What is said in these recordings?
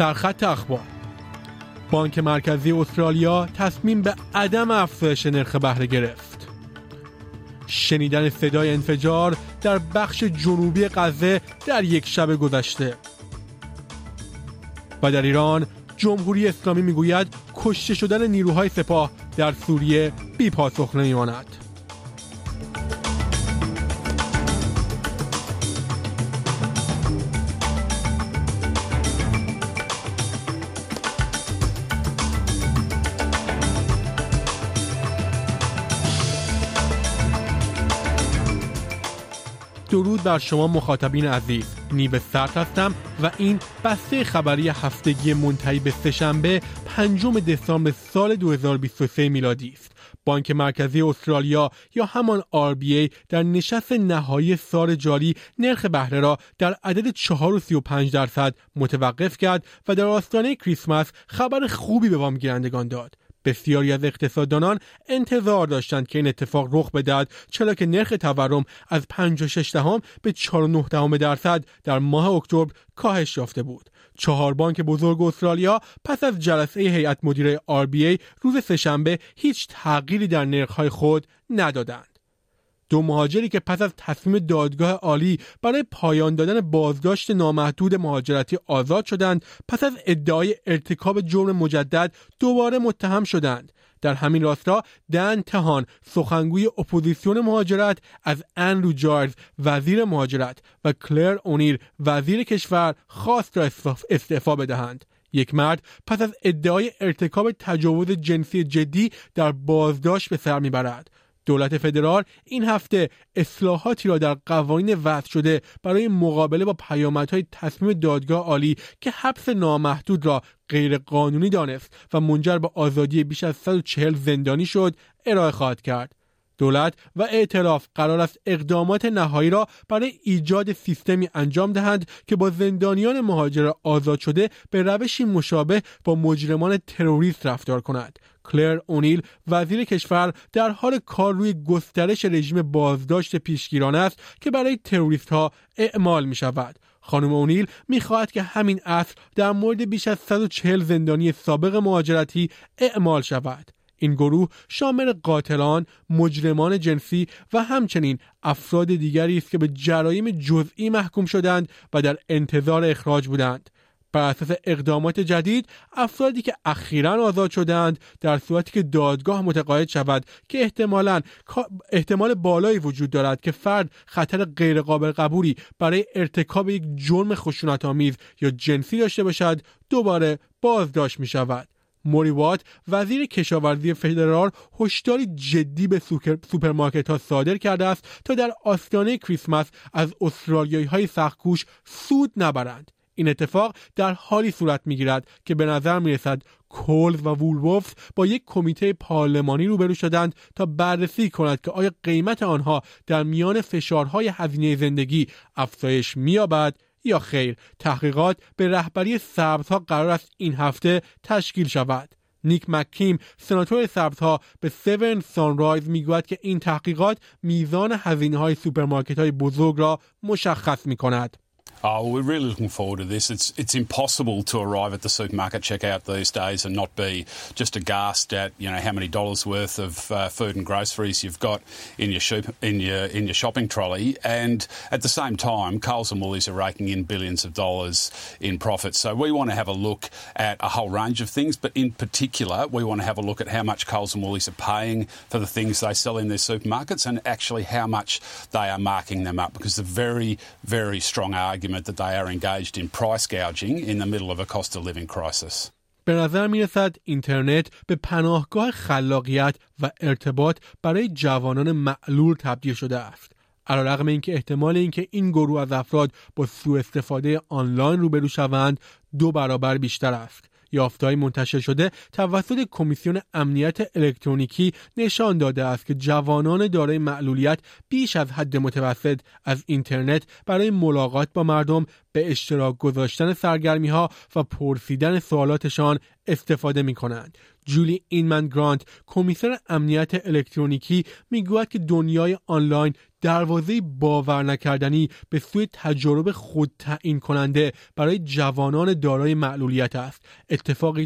سرخط اخبار: بانک مرکزی استرالیا تصمیم به عدم افزایش نرخ بهره گرفت. شنیدن صدای انفجار در بخش جنوبی غزه در یک شب گذشته. و در ایران جمهوری اسلامی میگوید کشته شدن نیروهای سپاه در سوریه بی پاسخ نمیماند. درود بر شما مخاطبین عزیز، نیو سرد هستم و این بسته خبری هفتگی منتهی به سه‌شنبه 5 دسامبر سال 2023 میلادی است. بانک مرکزی استرالیا یا همان RBA در نشست نهایی سال جاری نرخ بهره را در عدد 4.35% متوقف کرد و در آستانه کریسمس خبر خوبی به وام گیرندگان داد. بسیاری از اقتصاددانان انتظار داشتند که این اتفاق رخ بدهد، چرا که نرخ تورم از 5.6 به 4.9% در ماه اکتبر کاهش یافته بود. 4 بانک بزرگ استرالیا پس از جلسه هیئت مدیره RBA روز سه‌شنبه هیچ تغییری در نرخ‌های خود ندادند. 2 مهاجری که پس از تصمیم دادگاه عالی برای پایان دادن بازداشت نامحدود مهاجرتی آزاد شدند، پس از ادعای ارتکاب جرم مجدد دوباره متهم شدند. در همین راستا دن تهان، سخنگوی اپوزیسیون مهاجرت، از اندرو جایلز وزیر مهاجرت و کلر اونیل وزیر کشور خواست را استعفا بدهند. یک مرد پس از ادعای ارتکاب تجاوز جنسی جدی در بازداشت به سر میبرد. دولت فدرال این هفته اصلاحاتی را در قوانین وضع شده برای مقابله با پیامدهای تصمیم دادگاه عالی که حبس نامحدود را غیر قانونی دانست و منجر به آزادی بیش از 140 زندانی شد ارائه خواهد کرد. دولت و ائتلاف قرار است اقدامات نهایی را برای ایجاد سیستمی انجام دهند که با زندانیان مهاجر آزاد شده به روشی مشابه با مجرمان تروریست رفتار کند. کلر اونیل وزیر کشور در حال کار روی گسترش رژیم بازداشت پیشگیرانه است که برای تروریست ها اعمال می شود. خانم اونیل می خواهد که همین اصل در مورد بیش از 140 زندانی سابق مهاجرتی اعمال شود. این گروه شامل قاتلان، مجرمان جنسی و همچنین افراد دیگری است که به جرایم جزئی محکوم شدند و در انتظار اخراج بودند. بر اساس اقدامات جدید، افرادی که اخیراً آزاد شدند در صورتی که دادگاه متقاعد شود که احتمال بالایی وجود دارد که فرد خطر غیرقابل قبولی برای ارتکاب یک جرم خشونت‌آمیز یا جنسی داشته باشد، دوباره بازداشت می شود. موری وات وزیر کشاورزی فدرال هشداری جدی به سوپرمارکت‌ها صادر کرده است تا در آستانه کریسمس از استرالیایی‌های سخت‌کوش سود نبرند. این اتفاق در حالی صورت می‌گیرد که به نظر می‌رسد کولز و وولولفز با یک کمیته پارلمانی روبرو شدند تا بررسی کند که آیا قیمت آنها در میان فشارهای هزینه زندگی افزایش می‌یابد یا خیر. تحقیقات به رهبری سبزها قرار است این هفته تشکیل شود. نیک مککیم سناتور سبزها به 7 سانرایز میگوید که این تحقیقات میزان هزینه‌های سوپرمارکت‌های بزرگ را مشخص می‌کند. Oh, we're really looking forward to this. It's impossible to arrive at the supermarket checkout these days and not be just aghast at, you know, how many dollars worth of food and groceries you've got in your shopping trolley, and at the same time, Coles and Woolies are raking in billions of dollars in profits. So we want to have a look at a whole range of things, but in particular, we want to have a look at how much Coles and Woolies are paying for the things they sell in their supermarkets, and actually how much they are marking them up, because the very, very strong argument that they are engaged in price gouging in the middle of a cost of living crisis. به نظر می رسد اینترنت به پناهگاه خلاقیت و ارتباط برای جوانان معلول تبدیل شده است. علیرغم اینکه احتمال اینکه این گروه از افراد با سوء استفاده آنلاین روبرو شوند 2 برابر بیشتر است. یافته‌های منتشر شده توسط کمیسیون امنیت الکترونیکی نشان داده است که جوانان دارای معلولیت بیش از حد متوسط از اینترنت برای ملاقات با مردم به اشتراک گذاشتن سرگرمی‌ها و پرسیدن سوالاتشان استفاده می‌کنند. جولی اینمن گرانت، کمیسر امنیت الکترونیکی، میگوید که دنیای آنلاین دروازه باور نکردنی به سوی تجارب خود تعیین کننده برای جوانان دارای معلولیت است. اتفاقی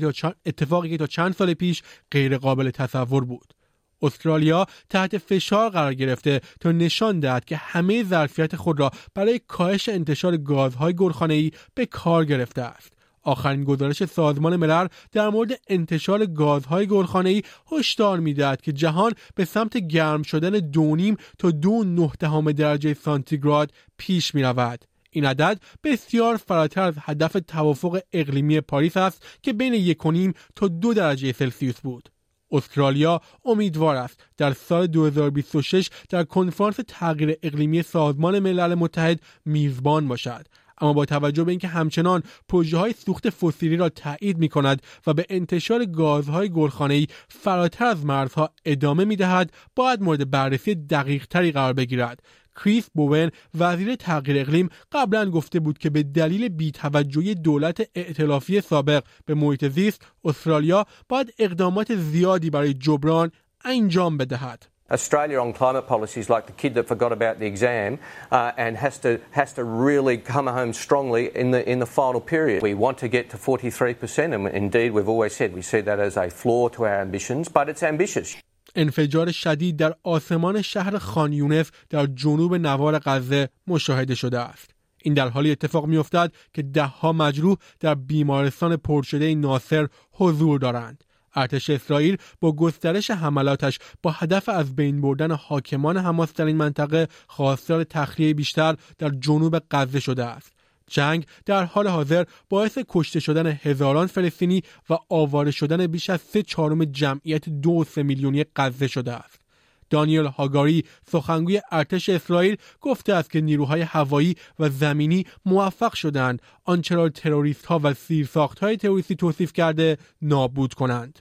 که تا چند سال پیش غیر قابل تصور بود. استرالیا تحت فشار قرار گرفته تا نشان دهد که همه ظرفیت خود را برای کاهش انتشار گازهای گلخانه‌ای به کار گرفته است. آخرین گزارش سازمان ملل در مورد انتشار گازهای گلخانه‌ای هشدار می‌دهد که جهان به سمت گرم شدن 2.5 تا 2.9 درجه سانتیگراد پیش می‌رود. این عدد بسیار فراتر از هدف توافق اقلیمی پاریس است که بین 1.5 تا 2 درجه سلسیوس بود. استرالیا امیدوار است در سال 2026 در کنفرانس تغییر اقلیمی سازمان ملل متحد میزبان باشد، اما با توجه به اینکه همچنان پروژه‌های سوخت فسیلی را تایید می‌کند و به انتشار گازهای گلخانه‌ای فراتر از مرزها ادامه می‌دهد، باید مورد بررسی دقیق‌تری قرار بگیرد. کریس بوون، وزیر تغییر اقلیم، قبلا گفته بود که به دلیل بی‌توجهی دولت ائتلافی سابق به محیط زیست، استرالیا باید اقدامات زیادی برای جبران انجام بدهد. Australia on climate policy is like the kid that forgot about the exam and has to really come home strongly in the final period. We want to get to 43%, and indeed we've always said we see that as a flaw to our ambitions, but it's ambitious. انفجار شدید در آسمان شهر خان یونس در جنوب نوار غزه مشاهده شده است. این در حالی اتفاق می‌افتد که ده‌ها مجروح در بیمارستان پرشده ناصر حضور دارند. ارتش اسرائیل با گسترش حملاتش با هدف از بین بردن حاکمان حماس در این منطقه خواستار تخلیه بیشتر در جنوب غزه شده است. جنگ در حال حاضر باعث کشته شدن هزاران فلسطینی و آواره شدن بیش از 3/4 جمعیت 2.3 میلیونی غزه شده است. دانیل هاگاری، سخنگوی ارتش اسرائیل، گفته است که نیروهای هوایی و زمینی موفق شدند آنچه را تروریست‌ها و زیرساخت‌های تروریستی توصیف کرده نابود کنند.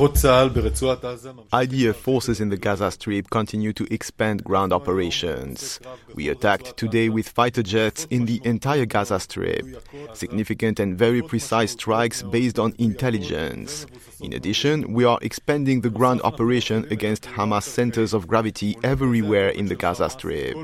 IDF forces in the Gaza Strip continue to expand ground operations. We attacked today with fighter jets in the entire Gaza Strip. Significant and very precise strikes based on intelligence. In addition, we are expanding the ground operation against Hamas centers of gravity everywhere in the Gaza Strip.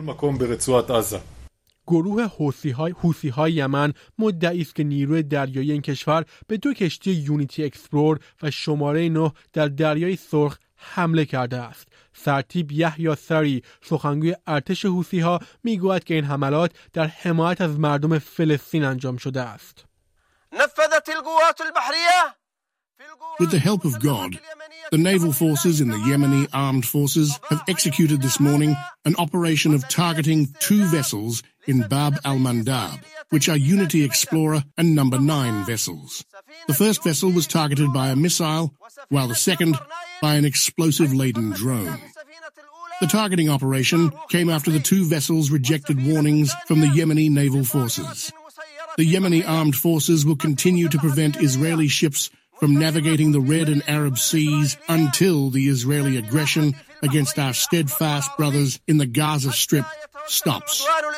گروه حوثی‌های یمن مدعی است که نیروی دریایی این کشور به 2 کشتی یونیتی اکسپلور و شماره 9 در دریای سرخ حمله کرده است. سرتیپ یحیی سری، سخنگوی ارتش حوثی‌ها، میگوید که این حملات در حمایت از مردم فلسطین انجام شده است. نفذت القوات البحرية With the help of God, the naval forces in the Yemeni armed forces have executed this morning an operation of targeting 2 vessels in Bab al-Mandab, which are Unity Explorer and number 9 vessels. The first vessel was targeted by a missile, while the second by an explosive-laden drone. The targeting operation came after the 2 vessels rejected warnings from the Yemeni naval forces. The Yemeni armed forces will continue to prevent Israeli ships from navigating the Red and Arab seas until the Israeli aggression against our steadfast brothers in the Gaza Strip stops.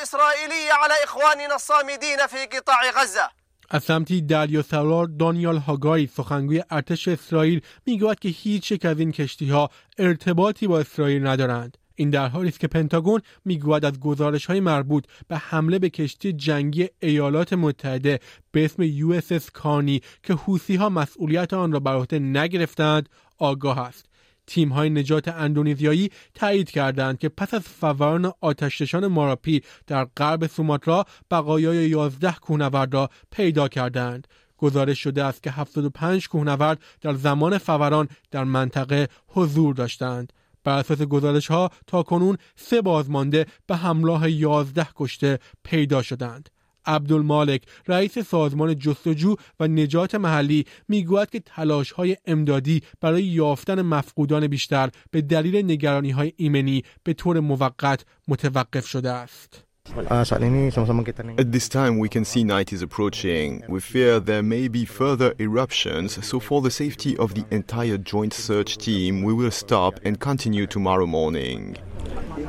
از سمتی دریاسالار دانیال هاگاری، سخنگوی ارتش اسرائیل، میگوید که هیچ یک از این کشتی‌ها ارتباطی با اسرائیل ندارند. این در حالی است که پنتاگون میگوید از گزارش‌های مربوط به حمله به کشتی جنگی ایالات متحده به اسم USS کارنی که حوثی‌ها مسئولیت آن را بر عهده نگرفتند آگاه است. تیم‌های نجات اندونزیایی تایید کردند که پس از فوران آتش‌نشان ماراپی در غرب سوماترا بقایای 11 کوهنورد را پیدا کردند. گزارش شده است که 75 کوهنورد در زمان فوران در منطقه حضور داشتند. بر اساس گزارش‌ها تاکنون 3 بازمانده به همراه 11 کشته پیدا شدند. عبدالمالک، رئیس سازمان جستجو و نجات محلی، میگوید که تلاش‌های امدادی برای یافتن مفقودان بیشتر به دلیل نگرانی‌های ایمنی به طور موقت متوقف شده است. At this time, we can see night is approaching. We fear there may be further eruptions, so for the safety of the entire joint search team, we will stop and continue tomorrow morning.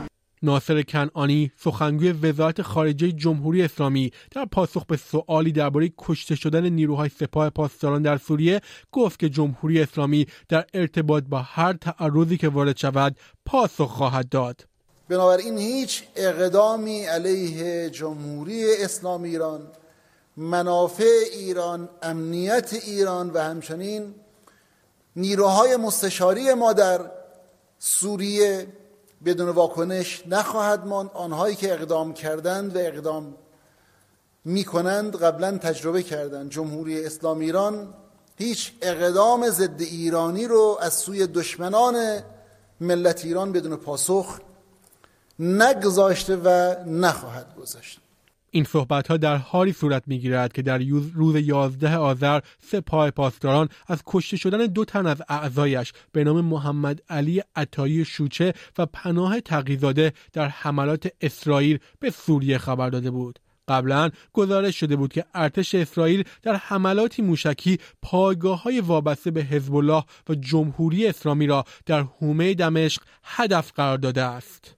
ناصر کنعانی سخنگوی وزارت خارجه جمهوری اسلامی در پاسخ به سوالی درباره کشته شدن نیروهای سپاه پاسداران در سوریه گفت که جمهوری اسلامی در ارتباط با هر تعرضی که وارد شود پاسخ خواهد داد. بنابراین هیچ اقدامی علیه جمهوری اسلامی ایران، منافع ایران، امنیت ایران و همچنین نیروهای مستشاری ما در سوریه بدون واکنش نخواهد ماند. آنهایی که اقدام کردند و اقدام میکنند قبلا تجربه کردند. جمهوری اسلامی ایران هیچ اقدام ضد ایرانی رو از سوی دشمنان ملت ایران بدون پاسخ نگذاشته و نخواهد گذاشت. این صحبت‌ها در حالی صورت می‌گیرد که در روز 11 آذر سپاه پاسداران از کشته شدن 2 تن از اعضایش به نام محمد علی عطایی شوچه و پناه تقی‌زاده در حملات اسرائیل به سوریه خبر داده بود. قبلا گزارش شده بود که ارتش اسرائیل در حملاتی موشکی پایگاه‌های وابسته به حزب الله و جمهوری اسلامی را در حومه دمشق هدف قرار داده است.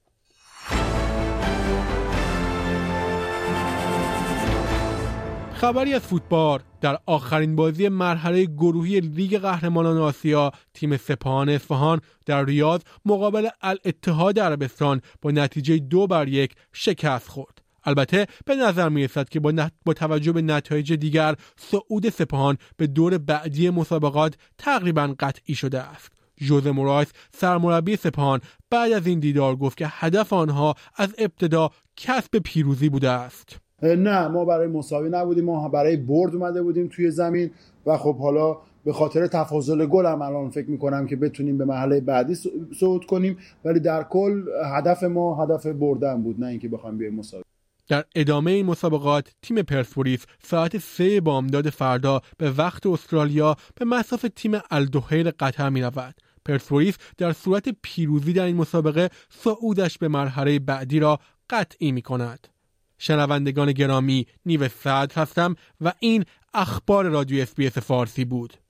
خبری از فوتبال: در آخرین بازی مرحله گروهی لیگ قهرمانان آسیا تیم سپاهان اصفهان در ریاض مقابل الاتحاد عربستان با نتیجه 2-1 شکست خورد. البته به نظر می رسد که با توجه به نتایج دیگر صعود سپاهان به دور بعدی مسابقات تقریباً قطعی شده است. ژوزه مورایس سرمربی سپاهان بعد از این دیدار گفت که هدف آنها از ابتدا کسب پیروزی بوده است. نه، ما برای مساوی نبودیم، ما برای برد اومده بودیم توی زمین و خب حالا به خاطر تفاضل گل هم الان فکر میکنم که بتونیم به مرحله بعدی صعود کنیم، ولی در کل هدف ما هدف بردن بود، نه اینکه بخوایم بیایم مساوی. در ادامه این مسابقات تیم پرسپولیس ساعت 3 بامداد فردا به وقت استرالیا به مصاف تیم الدحیل قطر می رود. پرسپولیس در صورت پیروزی در این مسابقه صعودش به مرحله بعدی را قطعی می کند. شنوندگان گرامی، نیو سعد هستم و این اخبار رادیو SBS فارسی بود.